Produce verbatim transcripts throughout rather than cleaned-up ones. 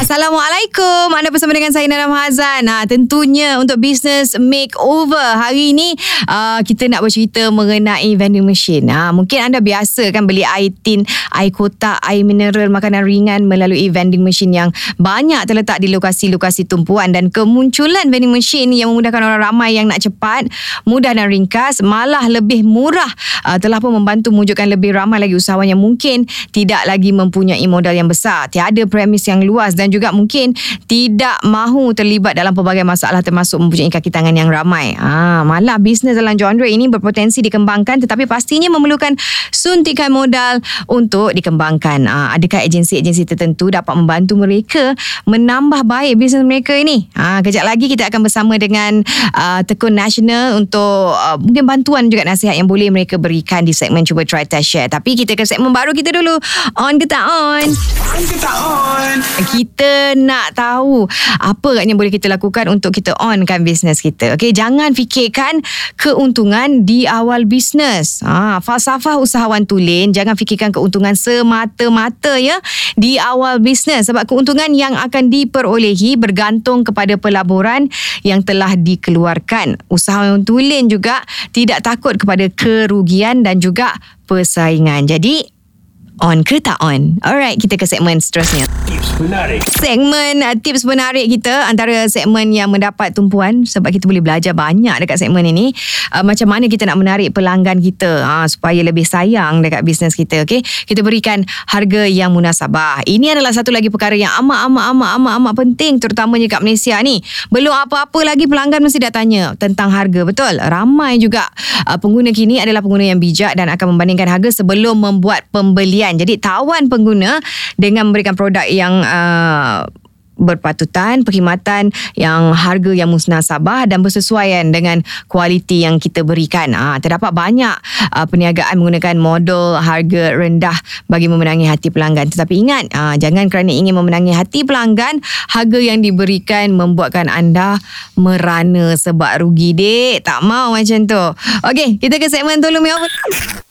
Assalamualaikum. Anda bersama dengan saya Nana Hazan. Ha, tentunya untuk business makeover hari ini uh, kita nak bercerita mengenai vending machine. Ha, mungkin anda biasa kan beli air tin, air kotak, air mineral, makanan ringan melalui vending machine yang banyak terletak di lokasi-lokasi tumpuan, dan kemunculan vending machine yang memudahkan orang ramai yang nak cepat, mudah dan ringkas, malah lebih murah, uh, telah pun membantu mewujudkan lebih ramai lagi usahawan yang mungkin tidak lagi mempunyai modal yang besar, tiada premis yang luas dan juga mungkin tidak mahu terlibat dalam pelbagai masalah termasuk mempunyai kaki tangan yang ramai. Ha, malah bisnes dalam genre ini berpotensi dikembangkan tetapi pastinya memerlukan suntikan modal untuk dikembangkan. Ha, adakah agensi-agensi tertentu dapat membantu mereka menambah baik bisnes mereka ini? Ha, kejap lagi kita akan bersama dengan uh, Tekun Nasional untuk uh, mungkin bantuan juga nasihat yang boleh mereka berikan di segmen Cuba Try Test Share. Tapi kita ke segmen baru kita dulu. On ke tak on? On ke tak on? Kita nak tahu apa agaknya boleh kita lakukan untuk kita onkan bisnes kita. Okey, jangan fikirkan keuntungan di awal bisnes. Ha, falsafah usahawan tulen, jangan fikirkan keuntungan semata-mata ya di awal bisnes, sebab keuntungan yang akan diperolehi bergantung kepada pelaburan yang telah dikeluarkan. Usahawan tulen juga tidak takut kepada kerugian dan juga persaingan. Jadi on ke tak on? Alright, kita ke segmen seterusnya. Tips menarik. Segmen uh, tips menarik kita antara segmen yang mendapat tumpuan sebab kita boleh belajar banyak dekat segmen ini. Uh, macam mana kita nak menarik pelanggan kita uh, supaya lebih sayang dekat bisnes kita. Okay? Kita berikan harga yang munasabah. Ini adalah satu lagi perkara yang amat-amat-amat-amat penting, terutamanya kat Malaysia ni. Belum apa-apa lagi pelanggan mesti dah tanya tentang harga. Betul? Ramai juga uh, pengguna kini adalah pengguna yang bijak dan akan membandingkan harga sebelum membuat pembelian. Jadi tawan pengguna dengan memberikan produk yang uh, berpatutan, perkhidmatan yang harga yang musnasabah dan bersesuaian dengan kualiti yang kita berikan. Ha, terdapat banyak uh, perniagaan menggunakan model harga rendah bagi memenangi hati pelanggan. Tetapi ingat, uh, jangan kerana ingin memenangi hati pelanggan, harga yang diberikan membuatkan anda merana sebab rugi, dek. Tak mau macam tu. Okey, kita ke segmen Tolong Me Over.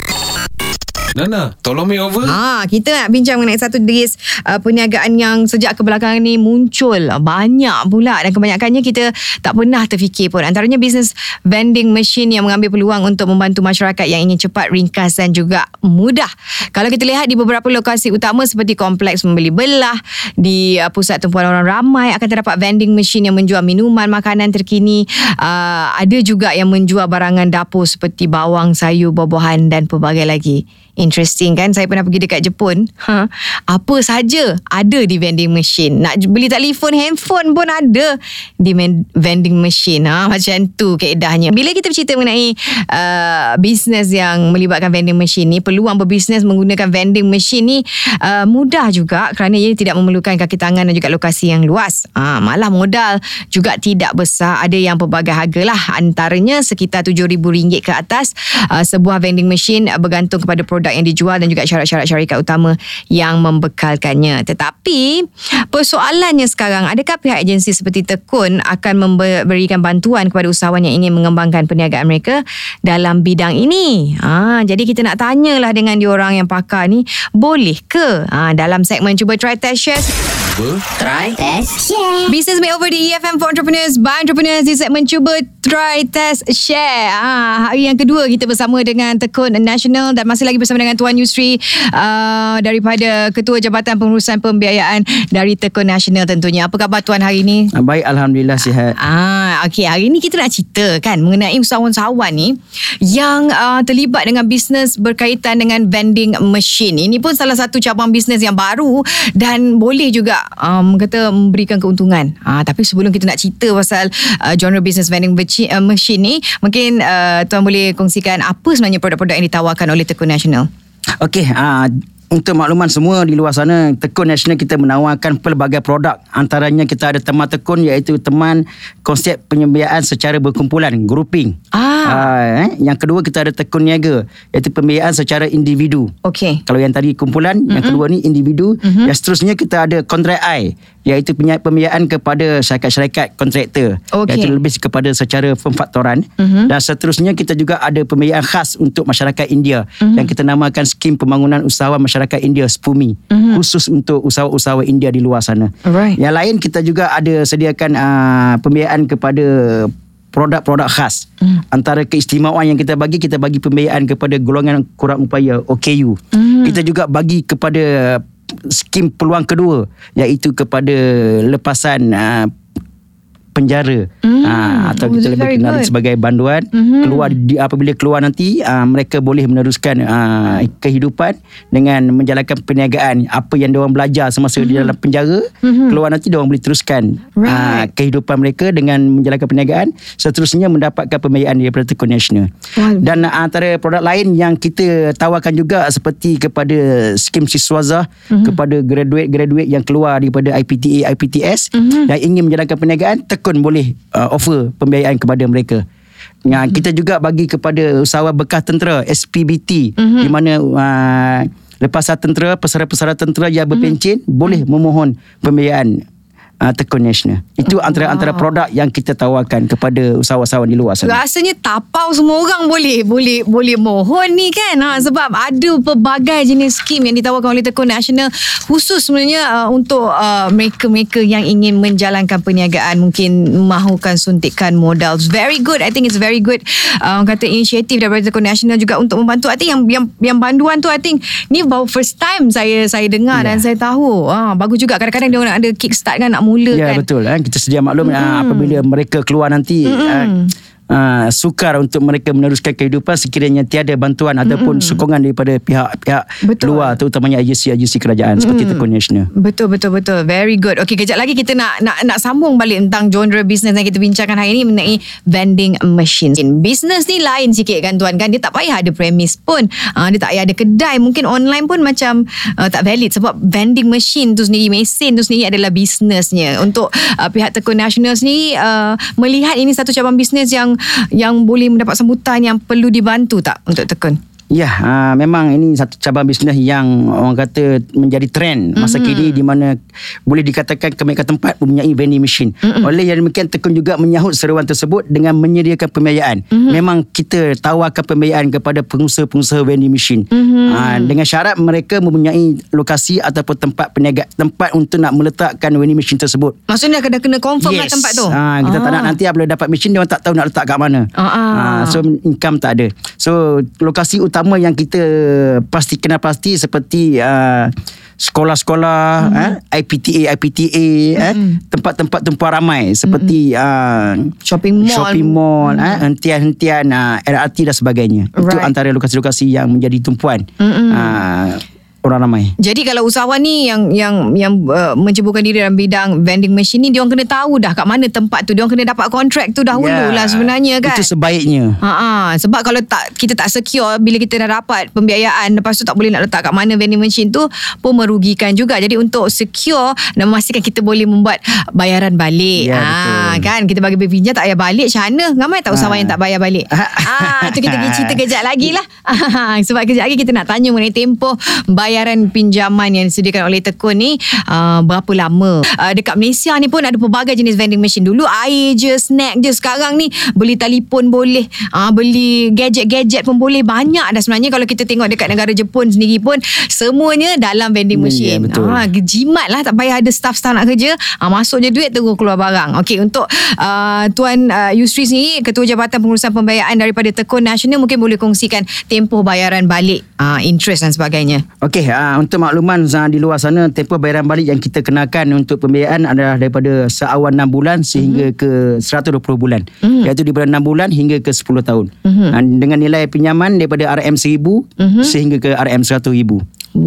Nana, tolong me over. Ha, kita nak bincang mengenai satu jenis uh, perniagaan yang sejak kebelakangan ni muncul banyak pula, dan kebanyakannya kita tak pernah terfikir pun. Antaranya bisnes vending machine yang mengambil peluang untuk membantu masyarakat yang ingin cepat, ringkas dan juga mudah. Kalau kita lihat di beberapa lokasi utama seperti kompleks membeli belah, di uh, pusat tumpuan orang ramai akan terdapat vending machine yang menjual minuman, makanan terkini. Uh, ada juga yang menjual barangan dapur seperti bawang, sayur, buah-buahan dan pelbagai lagi. Interesting kan? Saya pernah pergi dekat Jepun. Ha, apa saja ada di vending machine. Nak beli telefon, handphone pun ada di vending machine. Ha, macam tu keedahnya. Bila kita bercerita mengenai uh, bisnes yang melibatkan vending machine ni, peluang berbisnes menggunakan vending machine ni uh, mudah juga kerana ia tidak memerlukan kaki tangan dan juga lokasi yang luas. Ha, malah modal juga tidak besar. Ada yang pelbagai harga lah. Antaranya sekitar tujuh ribu ringgit ke atas. Uh, sebuah vending machine uh, bergantung kepada produk yang dijual dan juga syarat-syarat syarikat utama yang membekalkannya. Tetapi persoalannya sekarang, adakah pihak agensi seperti Tekun akan memberikan bantuan kepada usahawan yang ingin mengembangkan perniagaan mereka dalam bidang ini? Ha, jadi kita nak tanyalah dengan diorang yang pakar ni, boleh ke? Ha, dalam segmen Cuba Try Test Share. Cuba Try Test Share. Business Makeover di E F M for Entrepreneurs by Entrepreneurs di segmen Cuba Try Test Share. Ha, hari yang kedua kita bersama dengan Tekun Nasional dan masih lagi bersama dengan Tuan Yusri uh, daripada Ketua Jabatan Pengurusan Pembiayaan dari Tekun Nasional tentunya. Apa khabar Tuan hari ini? Baik, Alhamdulillah sihat. Ah, okey, hari ini kita nak cerita kan mengenai usahawan-usahawan ni yang uh, terlibat dengan bisnes berkaitan dengan vending machine. Ini pun salah satu cabang bisnes yang baru dan boleh juga um, kata memberikan keuntungan. Ah, tapi sebelum kita nak cerita pasal uh, genre bisnes vending machine ni, mungkin uh, Tuan boleh kongsikan apa sebenarnya produk-produk yang ditawarkan oleh Tekun Nasional. Okey, uh, untuk makluman semua di luar sana, Tekun Nasional kita menawarkan pelbagai produk. Antaranya kita ada teman Tekun, iaitu teman konsep pembiayaan secara berkumpulan, grouping. Ah. Uh, eh. Yang kedua kita ada Tekun Niaga, iaitu pembiayaan secara individu. Okey. Kalau yang tadi kumpulan, mm-hmm. yang kedua ni individu. Mm-hmm. Yang seterusnya kita ada Kontrak I, iaitu pembiayaan kepada syarikat-syarikat kontraktor, Okey. iaitu lebih kepada secara pemfaktoran. Uh-huh. Dan seterusnya kita juga ada pembiayaan khas untuk masyarakat India uh-huh. yang kita namakan Skim Pembangunan Usahawan Masyarakat India S P U M I, uh-huh. khusus untuk usahawan-usahawan India di luar sana. Alright. Yang lain kita juga ada sediakan uh, pembiayaan kepada produk-produk khas. Mm. Antara keistimewaan yang kita bagi, kita bagi pembiayaan kepada golongan kurang upaya O K U. Mm. Kita juga bagi kepada skim peluang kedua, iaitu kepada lepasan uh, penjara mm. uh, atau oh, kita lebih kenal good. sebagai banduan. Mm-hmm. Keluar di, apabila keluar nanti uh, mereka boleh meneruskan uh, kehidupan dengan menjalankan perniagaan apa yang diorang belajar semasa mm-hmm. di dalam penjara. Mm-hmm. Keluar nanti diorang boleh teruskan right. uh, kehidupan mereka dengan menjalankan perniagaan, seterusnya mendapatkan pembiayaan daripada Tekun Nasional. Wow. Dan uh, antara produk lain yang kita tawarkan juga seperti kepada skim siswaza mm-hmm. kepada graduate-graduate yang keluar daripada I P T A, I P T S mm-hmm. yang ingin menjalankan perniagaan, Tekun boleh uh, offer pembiayaan kepada mereka. Ya, mm-hmm. kita juga bagi kepada usahawan bekas tentera S P B T mm-hmm. di mana uh, lepasan tentera, pesara-pesara tentera yang berpencen mm-hmm. boleh memohon pembiayaan uh, Tekun Nasional. Itu antara-antara wow. produk yang kita tawarkan kepada usahawan-usahawan di luar sana. Rasanya tapau semua orang boleh boleh boleh mohon ni kan. Ha, sebab ada pelbagai jenis skim yang ditawarkan oleh Tekun Nasional khusus sebenarnya uh, untuk uh, mereka-mereka yang ingin menjalankan perniagaan, mungkin mahukan suntikan modal. It's very good. I think it's very good. Uh, kata inisiatif daripada Tekun Nasional juga untuk membantu. I think yang yang yang banduan tu I think ni baru first time saya saya dengar yeah. dan saya tahu. Ah, bagus juga. Kadang-kadang dia orang ada kickstart kan, nak mula ya, kan. Betul kan. Kita sedia maklum mm-hmm. apabila mereka keluar nanti mm-hmm. uh, Uh, sukar untuk mereka meneruskan kehidupan sekiranya tiada bantuan mm-hmm. ataupun sokongan daripada pihak-pihak luar, terutamanya agensi-agensi kerajaan mm-hmm. seperti Tekun Nasional. Betul betul betul. Very good. Okey, kejap lagi kita nak nak nak sambung balik tentang genre bisnes yang kita bincangkan hari ini mengenai vending machine. Bisnes ni lain sikit kan tuan kan. Dia tak payah ada premis pun. Uh, dia tak payah ada kedai. Mungkin online pun macam uh, tak valid sebab vending machine tu sendiri, mesin tu sendiri adalah bisnesnya. Untuk uh, pihak Tekun Nasional sendiri uh, melihat ini satu cabang bisnes yang yang boleh mendapat sambutan, yang perlu dibantu tak untuk Tekun? Ya, uh, memang ini satu cabang bisnes yang orang kata menjadi trend masa mm-hmm. kini, di mana boleh dikatakan kebanyakan tempat mempunyai vending machine. Mm-hmm. Oleh yang demikian, Tekun juga menyahut seruan tersebut dengan menyediakan pembiayaan. Mm-hmm. Memang kita tawarkan pembiayaan kepada pengusaha-pengusaha vending machine. Mm-hmm. Uh, dengan syarat mereka mempunyai lokasi ataupun tempat peniaga, tempat untuk nak meletakkan vending machine tersebut. Maksudnya kena kena confirm yes. lah tempat tu. Uh, kita ah. tak nak nanti apabila dapat machine dia orang tak tahu nak letak kat mana. Ah. Uh, so income tak ada. So lokasi utama Utama yang kita pasti kenal pasti seperti uh, sekolah-sekolah, mm-hmm. eh, I P T A, I P T A, mm-hmm. eh, tempat-tempat tumpuan ramai seperti mm-hmm. uh, shopping mall, shopping mall, mm-hmm. eh, hentian-hentian uh, R R T dan sebagainya. Right. Itu antara lokasi-lokasi yang menjadi tumpuan mm-hmm. uh, orang ramai. Jadi kalau usahawan ni yang yang yang uh, menceburkan diri dalam bidang vending machine ni, dia orang kena tahu dah kat mana tempat tu. Dia orang kena dapat kontrak tu dahulu yeah. lah sebenarnya kan. Itu sebaiknya. Ha, sebab kalau tak, kita tak secure bila kita dah dapat pembiayaan, lepas tu tak boleh nak letak kat mana vending machine tu, pun merugikan juga. Jadi untuk secure dan memastikan kita boleh membuat bayaran balik. Ya, ha, kan kita bagi berpinjam tak payah balik, macam mana? Ramai tak usahawan ha. yang tak bayar balik. Ah, tu kita pergi cerita kejap lagi lah. Sebab kejap lagi kita nak tanya mengenai tempoh bayaran pinjaman yang disediakan oleh Tekun ni, uh, berapa lama. Uh, dekat Malaysia ni pun ada pelbagai jenis vending machine. Dulu air je, snack je. Sekarang ni beli telefon boleh, uh, beli gadget-gadget pun boleh. Banyak dah sebenarnya. Kalau kita tengok dekat negara Jepun sendiri pun, semuanya dalam vending machine. Ya, betul. Uh, jimat lah, tak payah ada staff-staff nak kerja. Uh, masuk je duit, terus keluar barang. Okey, untuk uh, Tuan uh, Yusri sendiri, Ketua Jabatan Pengurusan Pembiayaan daripada Tekun Nasional, mungkin boleh kongsikan tempoh bayaran balik, uh, interest dan sebagainya. Okey, uh, untuk makluman uh, di luar sana, tempoh bayaran balik yang kita kenakan untuk pembiayaan adalah daripada seawan enam bulan sehingga mm-hmm. ke seratus dua puluh bulan. Mm-hmm. Iaitu daripada enam bulan hingga ke sepuluh tahun. Mm-hmm. Uh, dengan nilai pinjaman daripada R M seribu mm-hmm. sehingga ke R M seratus ribu.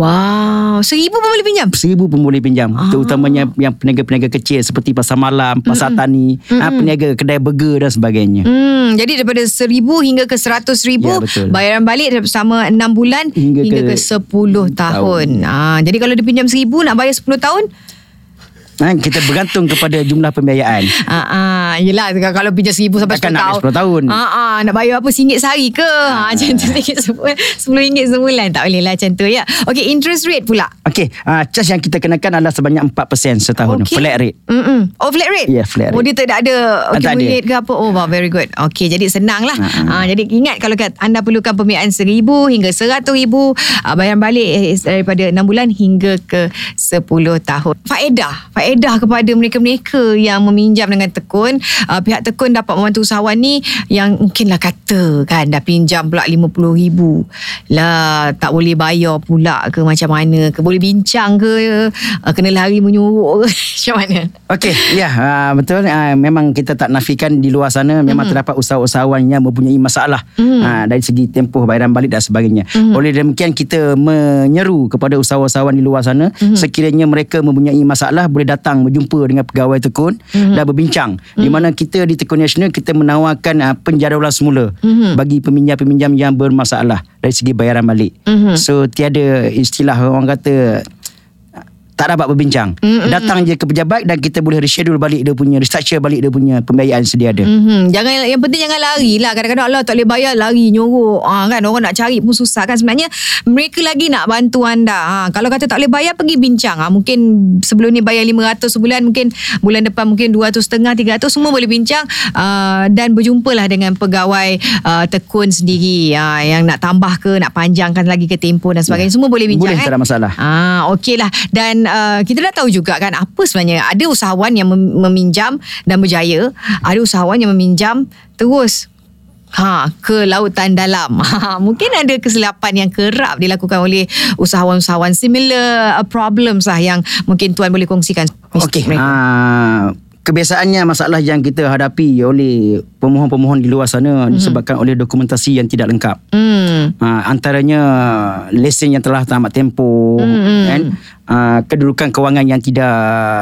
Wow, seribu pun boleh pinjam? Seribu pun boleh pinjam. Ah. Terutamanya yang peniaga-peniaga kecil seperti pasar malam, pasar mm-mm. tani, mm-mm. Ha, peniaga kedai burger dan sebagainya. Hmm, jadi daripada seribu hingga ke seratus ribu, ya, bayaran balik selama enam bulan hingga, hingga ke, ke sepuluh tahun. tahun. Ha, jadi kalau dia pinjam seribu nak bayar sepuluh tahun? Ha, kita bergantung kepada jumlah pembiayaan. Ah, ah, yelah kalau pinjam seribu sampai Takkan sepuluh nak sepuluh tahun. Ah, ah, nak bayar apa singgit sehari ke? Ah, macam tu sepuluh ringgit sebulan tak boleh lah macam tu ya. Okey, interest rate pula. Okey, uh, charge yang kita kenakan adalah sebanyak empat peratus setahun. Okay. Flat rate. Mm-mm. Oh, flat rate? Ya, yeah, flat rate. Oh, dia tak ada accumulate ke ada. apa? Oh, wow, very good. Okey, jadi senang lah. Uh-huh. Ah, jadi ingat kalau anda perlukan pembiayaan seribu hingga seratus ribu, ah, bayaran balik eh, daripada enam bulan hingga ke sepuluh tahun. Faedah. Faedah kepada mereka-mereka yang meminjam dengan Tekun. Uh, pihak Tekun dapat membantu usahawan ni yang mungkinlah kata kan dah pinjam pula lima puluh ribu. Lah, tak boleh bayar pula ke macam mana ke? Boleh bincang ke? Uh, kena lari menyuruh ke? Macam mana? Okey, ya, uh, betul. Uh, memang kita tak nafikan di luar sana memang mm-hmm. terdapat usahawan yang mempunyai masalah mm-hmm. uh, dari segi tempoh bayaran balik dan sebagainya. Mm-hmm. Oleh demikian kita menyeru kepada usahawan-usahawan di luar sana mm-hmm. sekiranya mereka mempunyai masalah boleh datang berjumpa dengan pegawai Tekun mm-hmm. dan berbincang mm-hmm. di mana kita di Tekun Nasional kita menawarkan uh, penjadualan semula mm-hmm. bagi peminjam-peminjam yang bermasalah dari segi bayaran balik. Mm-hmm. So tiada istilah orang kata tak dapat berbincang. Mm-hmm. Datang je ke pejabat dan kita boleh reschedule balik dia punya, restructure balik dia punya pembiayaan sedia ada. Mm-hmm. Jangan, yang penting jangan lari lah. Kadang-kadang Allah tak boleh bayar, lari nyorok. Ha, kan orang nak cari pun susah kan. Sebenarnya mereka lagi nak bantu anda. Ha, kalau kata tak boleh bayar, pergi bincang. Ha, mungkin sebelum ni bayar lima ratus sebulan, mungkin bulan depan mungkin dua ratus lima puluh, tiga ratus, semua boleh bincang uh, dan berjumpalah dengan pegawai uh, Tekun sendiri uh, yang nak tambah ke, nak panjangkan lagi ke tempoh dan sebagainya. Ya. Semua boleh bincang. Boleh, kan? Tak ada masalah. Ah, okey lah. Dan Uh, kita dah tahu juga kan apa sebenarnya, ada usahawan yang mem- meminjam dan berjaya, ada usahawan yang meminjam terus ha ke lautan dalam. Ha, mungkin ada kesilapan yang kerap dilakukan oleh usahawan-usahawan, similar uh, problems lah yang mungkin tuan boleh kongsikan. Okey. Uh, kebiasaannya masalah yang kita hadapi oleh pemohon-pemohon di luar sana mm. disebabkan oleh dokumentasi yang tidak lengkap. Mm. Uh, antaranya lesen yang telah tamat tempoh, mm. kan? Uh, kedudukan kewangan yang tidak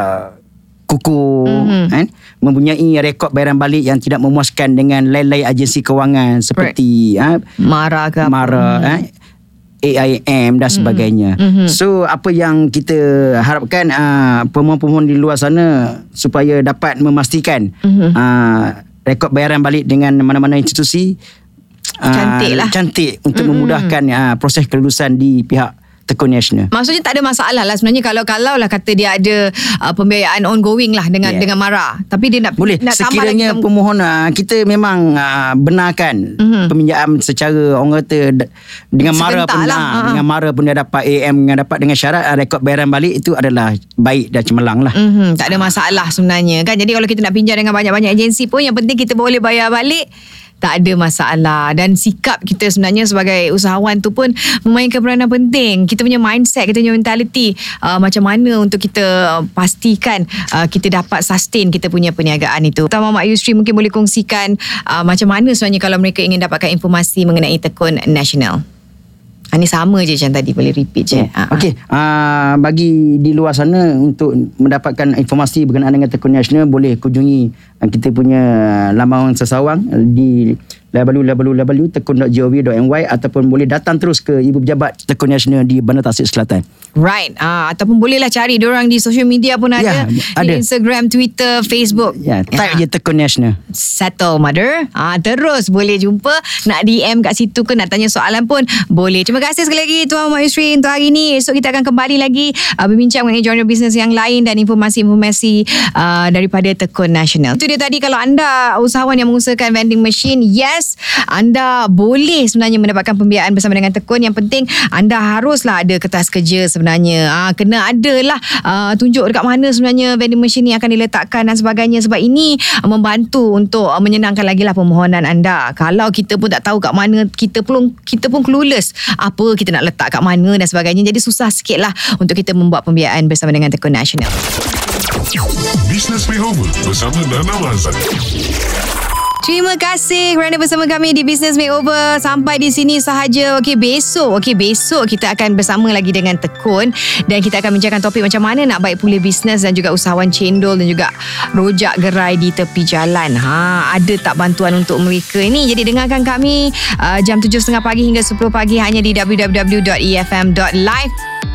kukuh, mm-hmm. kan? Mempunyai rekod bayaran balik yang tidak memuaskan dengan lain-lain agensi kewangan seperti right. uh, Mara ke apa? Mara, mm. uh, A I M dan sebagainya. Mm-hmm. So apa yang kita harapkan uh, pemohon-pemohon di luar sana supaya dapat memastikan mm-hmm. uh, rekod bayaran balik dengan mana-mana institusi cantik lah, uh, cantik untuk mm-hmm. memudahkan uh, proses kelulusan di pihak Tekun Nasional. Maksudnya tak ada masalah lah sebenarnya kalau kalau lah kata dia ada uh, pembiayaan ongoing lah dengan yeah. dengan Mara, tapi dia nak boleh nak sekiranya tambah lagi pemohon uh, kita memang uh, benarkan mm-hmm. peminjam secara orang kata dengan Mara pun lah. uh, dengan Mara pun dia dapat A M, dengan dapat dengan syarat uh, rekod bayaran balik itu adalah baik dan cemerlang lah. Mm-hmm. Tak ada masalah sebenarnya kan. Jadi kalau kita nak pinjam dengan banyak-banyak agensi pun yang penting kita boleh bayar balik, tak ada masalah. Dan sikap kita sebenarnya sebagai usahawan tu pun memainkan peranan penting. Kita punya mindset, kita punya mentality, uh, macam mana untuk kita pastikan uh, kita dapat sustain kita punya perniagaan itu. Utama Mak Yusri mungkin boleh kongsikan uh, macam mana sebenarnya kalau mereka ingin dapatkan informasi mengenai Tekun Nasional. Ha, ni sama je macam tadi, boleh repeat je. Oh, Okey, uh, bagi di luar sana untuk mendapatkan informasi berkenaan dengan Tekun Nasional boleh kunjungi uh, kita punya laman sesawang di w w w dot tekun dot gov dot m y ataupun boleh datang terus ke Ibu Pejabat Tekun Nasional di Bandar Tasik Selatan. Right. Ah, ataupun bolehlah cari diorang di social media pun ada. Ya, di ada. Instagram, Twitter, Facebook. Ya, type ya. je Tekun Nasional. Settle mother. Ah, terus boleh jumpa, nak D M kat situ ke, nak tanya soalan pun boleh. Terima kasih sekali lagi Tuan Mak Yusri untuk hari ini. Esok kita akan kembali lagi uh, berbincang mengenai genre bisnes yang lain dan informasi-informasi uh, daripada Tekun Nasional. Itu dia tadi, kalau anda usahawan yang mengusahakan vending machine, yes, anda boleh sebenarnya mendapatkan pembiayaan bersama dengan Tekun. Yang penting anda haruslah ada kertas kerja sebenarnya. Ah, kena adalah uh, tunjuk dekat mana sebenarnya vending machine ni akan diletakkan dan sebagainya, sebab ini uh, membantu untuk uh, menyenangkan lagi lah permohonan anda. Kalau kita pun tak tahu kat mana, kita pun kita pun clueless apa kita nak letak kat mana dan sebagainya, jadi susah sikit lah untuk kita membuat pembiayaan bersama dengan Tekun Nasional. Business Makeover bersama Nana Mazan. Terima kasih kerana bersama kami di Business Makeover. Sampai di sini sahaja. Okey, besok. Okey, besok kita akan bersama lagi dengan Tekun dan kita akan bincangkan topik macam mana nak baik pulih bisnes dan juga usahawan cendol dan juga rojak gerai di tepi jalan. Ha, ada tak bantuan untuk mereka ini? Jadi dengarkan kami uh, jam tujuh tiga puluh pagi hingga sepuluh pagi hanya di w w w dot e f m dot live.